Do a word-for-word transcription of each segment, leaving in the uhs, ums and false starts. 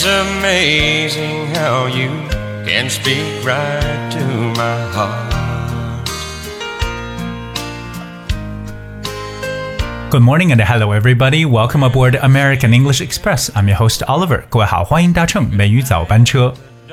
It's amazing how you can speak right to my heart. Good morning and hello everybody. Welcome aboard American English Express. I'm your host Oliver. 各位好，欢迎搭乘美语早班车。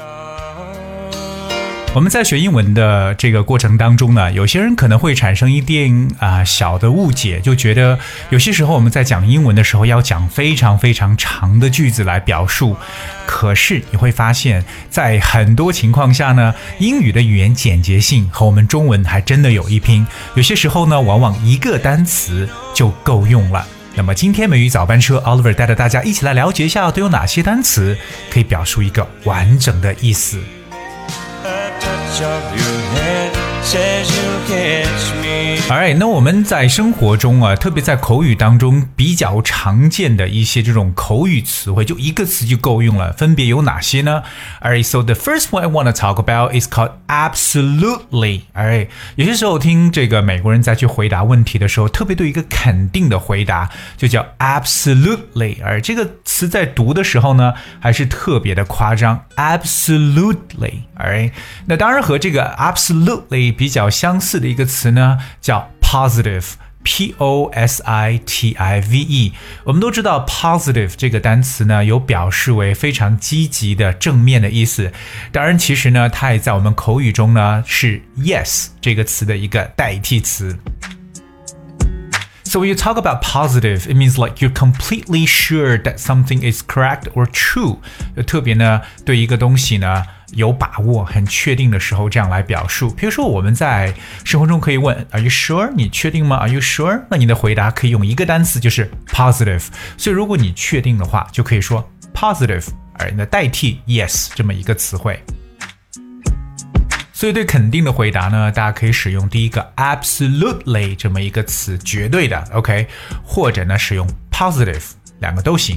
我们在学英文的这个过程当中呢，有些人可能会产生一点啊、呃、小的误解，就觉得有些时候我们在讲英文的时候要讲非常非常长的句子来表述，可是你会发现在很多情况下呢，英语的语言简洁性和我们中文还真的有一拼，有些时候呢往往一个单词就够用了。那么今天美语早班车 Oliver 带着大家一起来了解一下都有哪些单词可以表述一个完整的意思。Alright， 那我们在生活中啊，特别在口语当中比较常见的一些这种口语词汇，就一个词就够用了，分别有哪些呢？ Alright, so the first one I want to talk about is called absolutely. Alright， 有些时候听这个美国人在去回答问题的时候，特别对一个肯定的回答，就叫 absolutely。而这个词在读的时候呢，还是特别的夸张 ，absolutely。Alright， 那当然和这个 absolutely 比较相似的一个词呢，叫 positive。P O S I T I V E， 我们都知道 positive 这个单词呢，有表示为非常积极的正面的意思。当然，其实呢，它也在我们口语中呢是 yes 这个词的一个代替词。So when you talk about positive, it means like you're completely sure that something is correct or true. 特别呢，对一个东西呢有把握、很确定的时候，这样来表述。比如说，我们在生活中可以问 Are you sure? 你确定吗 Are you sure? 那你的回答可以用一个单词，就是 positive。所以如果你确定的话，就可以说 positive， 而那代替 yes 这么一个词汇。所以对肯定的回答呢，大家可以使用第一个 absolutely 这么一个词，绝对的 OK， 或者呢使用 positive， 两个都行。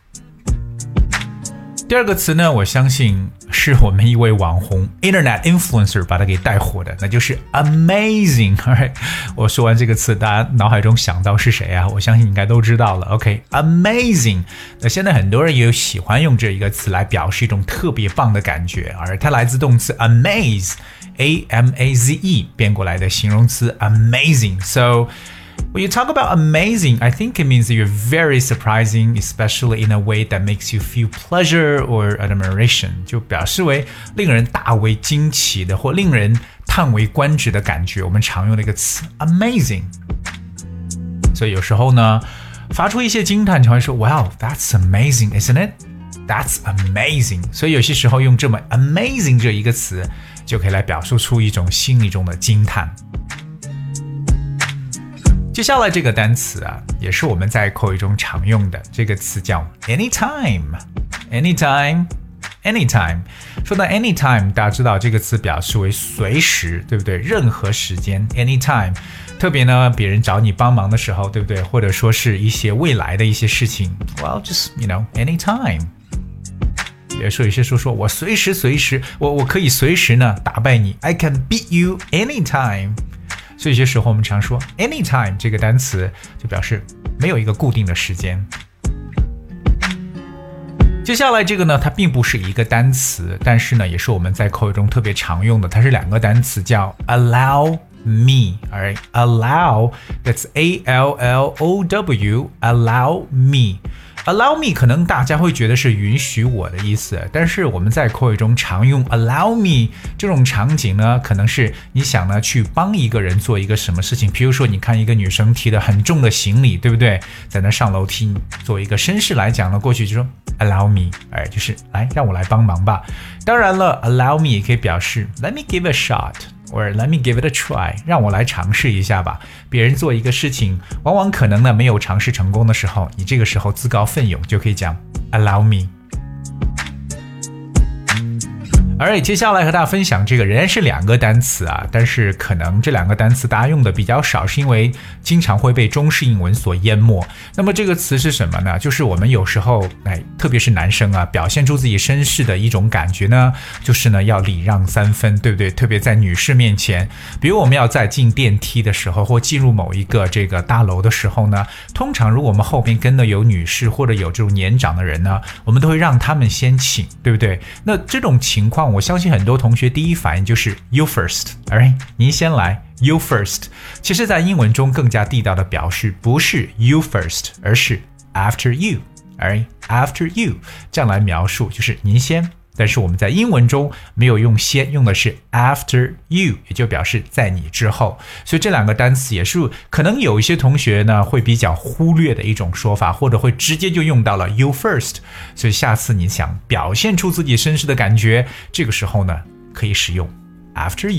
第二个词呢，我相信是我们一位网红 Internet Influencer 把它给带火的，那就是 amazing。 Alright， 我说完这个词，大家脑海中想到是谁啊？我相信应该都知道了 OK， amazing。 那现在很多人也有喜欢用这一个词来表示一种特别棒的感觉，而它来自动词 amaze A M A Z E 变过来的形容词 amazing。 So when you talk about amazing, I think it means that you're very surprising, especially in a way that makes you feel pleasure or admiration. 就表示为令人大为惊奇的或令人叹为观止的感觉，我们常用的一个词 amazing。 所以有时候呢，发出一些惊叹，常会说 Wow, that's amazing, isn't it? That's amazing. 所以有些时候用这么 amazing 这一个词，就可以来表述出一种心里中的惊叹。接下来这个单词啊，也是我们在口语中常用的，这个词叫 anytime anytime anytime。 说到 anytime， 大家知道这个词表示为随时，对不对？任何时间 anytime。 特别呢，别人找你帮忙的时候，对不对？或者说是一些未来的一些事情， well just you know anytime。 比如说有些时候说我随时随时我我可以随时呢打败你， I can beat you anytime。所以有些时候我们常说 anytime 这个单词就表示没有一个固定的时间。接下来这个呢，它并不是一个单词，但是呢也是我们在口语中特别常用的，它是两个单词，叫 allow me。 Alright, allow, that's A L L O W, allow me。Allow me 可能大家会觉得是允许我的意思，但是我们在口语中常用 allow me 这种场景呢，可能是你想呢去帮一个人做一个什么事情。比如说你看一个女生提的很重的行李，对不对？在那上楼梯，做一个绅士来讲呢，过去就说 allow me， 哎，就是来让我来帮忙吧。当然了 allow me 也可以表示 let me give a shot，or let me give it a try， 让我来尝试一下吧。别人做一个事情，往往可能呢没有尝试成功的时候，你这个时候自告奋勇就可以讲 allow me。 Alright， 接下来和大家分享这个仍然是两个单词啊，但是可能这两个单词大家用的比较少，是因为经常会被中式英文所淹没。那么这个词是什么呢？就是我们有时候，哎，特别是男生啊，表现出自己绅士的一种感觉呢，就是呢要礼让三分，对不对？特别在女士面前，比如我们要在进电梯的时候，或进入某一个这个大楼的时候呢，通常如果我们后边跟的有女士或者有这种年长的人呢，我们都会让他们先请，对不对？那这种情况，我相信很多同学第一反应就是 you first， alright， 您先来 you first。其实，在英文中更加地道的表示不是 you first， 而是 after you，alright， after you 这样来描述，就是您先。但是我们在英文中没有用先，用的是 after you， 也就表示在你之后。所以这两个单词也是可能有一些同学呢会比较忽略的一种说法，或者会直接就用到了 you first。所以下次你想表现出自己绅士的感觉，这个时候呢可以使用 after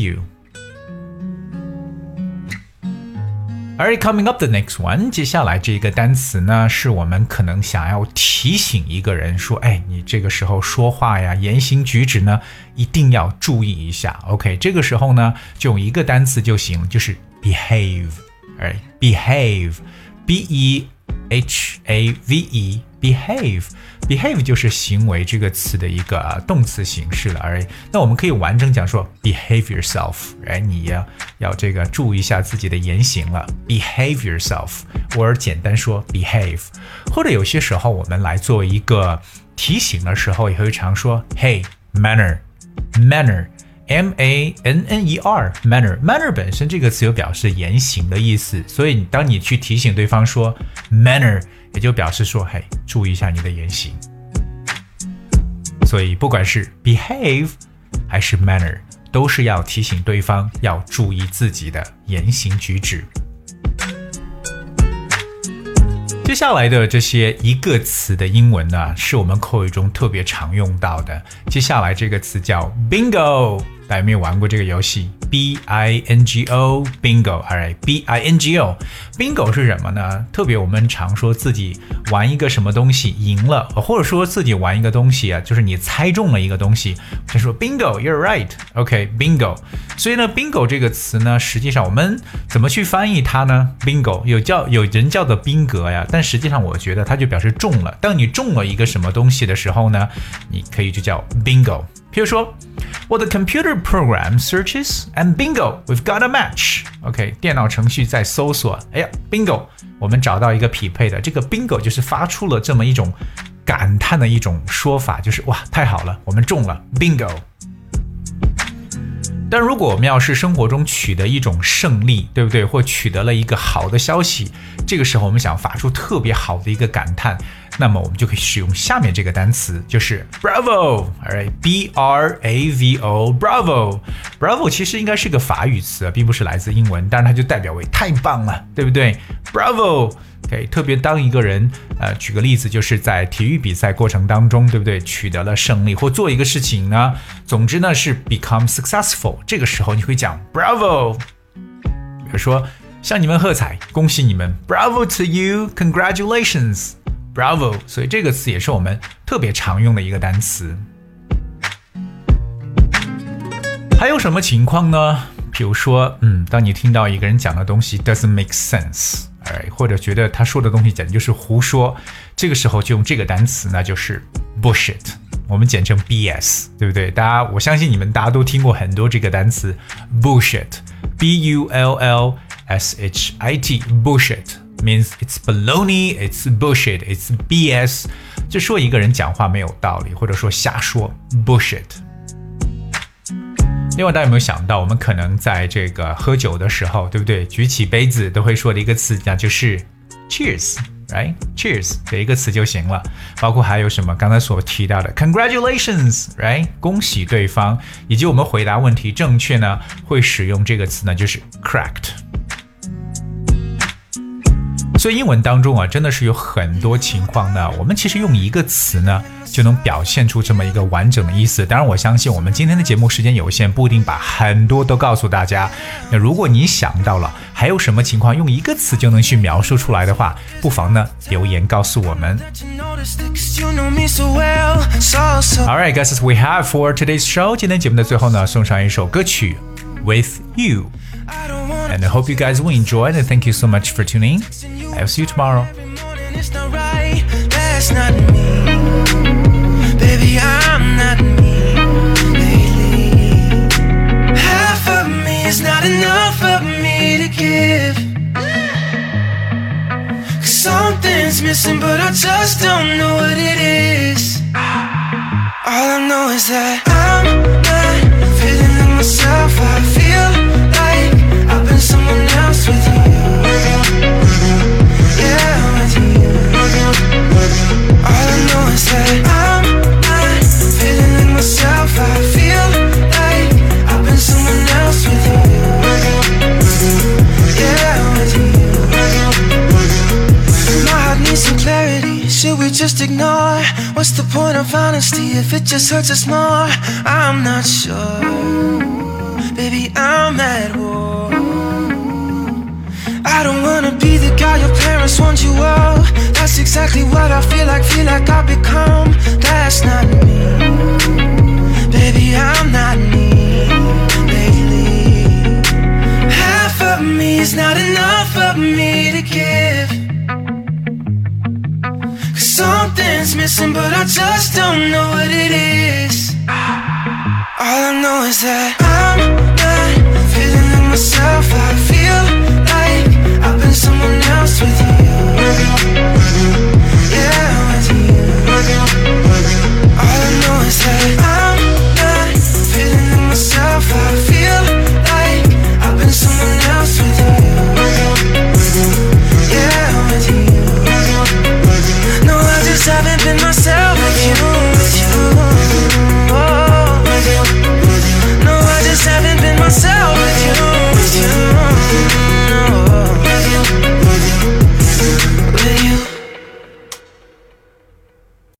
you。Alright, coming up the next one， 接下来这个单词呢，是我们可能想要提醒一个人说，哎，你这个时候说话呀，言行举止呢，一定要注意一下。OK， 这个时候呢，就用一个单词就行，就是 behave。Alright, behave，B E H A V E，behave。behave 就是行为这个词的一个、啊、动词形式了，而那我们可以完整讲说 behave yourself， 哎，你要要这个注意一下自己的言行了 ，behave yourself， 或者简单说 behave， 或者有些时候我们来做一个提醒的时候，也会常说 hey manner，manner。M A N N E R manner manner 本身这个词有表示言行的意思，所以当你去提醒对方说 manner， 也就表示说，嘿，注意一下你的言行。所以不管是 behave 还是 manner， 都是要提醒对方要注意自己的言行举止。接下来的这些一个词的英文呢，是我们口语中特别常用到的。接下来这个词叫 bingo， 大家有没有玩过这个游戏 ？B I N G O bingo， alright， B I N G O bingo 是什么呢？特别我们常说自己玩一个什么东西赢了，或者说自己玩一个东西啊，就是你猜中了一个东西，就说 bingo，you're right，OK， bingo。所以呢 bingo 这个词呢，实际上我们怎么去翻译它呢 ？bingo 有叫有人叫做宾格呀，但实际上我觉得它就表示中了。当你中了一个什么东西的时候呢，你可以就叫 bingo。譬如说 ，Well, the computer program searches and bingo, we've got a match. OK， 电脑程序在搜索，哎呀 ，bingo， 我们找到一个匹配的。这个 bingo 就是发出了这么一种感叹的一种说法，就是哇，太好了，我们中了 bingo。但如果我们要是生活中取得一种胜利，对不对？或取得了一个好的消息，这个时候我们想发出特别好的一个感叹，那么我们就可以使用下面这个单词，就是 bravo，alright， B R A V O，bravo，bravo 其实应该是个法语词，并不是来自英文，但是它就代表为太棒了，对不对 ？bravo。Okay， 特别当一个人，呃，举个例子，就是在体育比赛过程当中，对不对？取得了胜利或做一个事情呢，总之呢是 become successful。这个时候你会讲 bravo， 比如说向你们喝彩，恭喜你们 ，bravo to you， congratulations，bravo。所以这个词也是我们特别常用的一个单词。还有什么情况呢？比如说，嗯，当你听到一个人讲的东西 doesn't make sense。Alright， 或者觉得他说的东西简直就是胡说，这个时候就用这个单词，那就是 bullshit， 我们简称 B S， 对不对？大家，我相信你们大家都听过很多这个单词 bullshit，B U L L S H I T， bullshit means it's baloney, it's bullshit, it's B S， 就说一个人讲话没有道理，或者说瞎说 bullshit。另外，大家有没有想到，我们可能在这个喝酒的时候，对不对？举起杯子都会说的一个词，那就是 cheers，right？ cheers 这一个词就行了。包括还有什么刚才所提到的 congratulations，right？ 恭喜对方，以及我们回答问题正确呢，会使用这个词呢，就是 correct。 所以英文当中啊，真的是有很多情况呢，我们其实用一个词呢就能表现出这么一个完整的意思。当然我相信我们今天的节目时间有限，不一定把很多都告诉大家。那如果你想到了还有什么情况用一个词就能去描述出来的话，不妨呢留言告诉我们。 Alright guys, that's we have for today's show. 今天节目的最后呢，送上一首歌曲 With You, and I hope you guys will enjoy it, and thank you so much for tuning. I'll see you tomorrow. Baby, I'm not me lately. Half of me is not enough of me to give. Cause something's missing, but I just don't know what it is. All I know is that I'm not feeling like myself. I feel like I've been someone else with you. Yeah, with you. All I know is that I'm not feeling like myself. I feel like I've been someone else with you. Yeah, with you. My heart needs some clarity. Should we just ignore? What's the point of honesty if it just hurts us more? I'm not sure. Baby, I'm at war. I don't wanna be the guy your parents want you of. That's exactly what I feel like, feel like I've become. That's not me. Baby, I'm not me lately. Half of me is not enough of me to give. Cause something's missing, but I just don't know what it is. All I know is that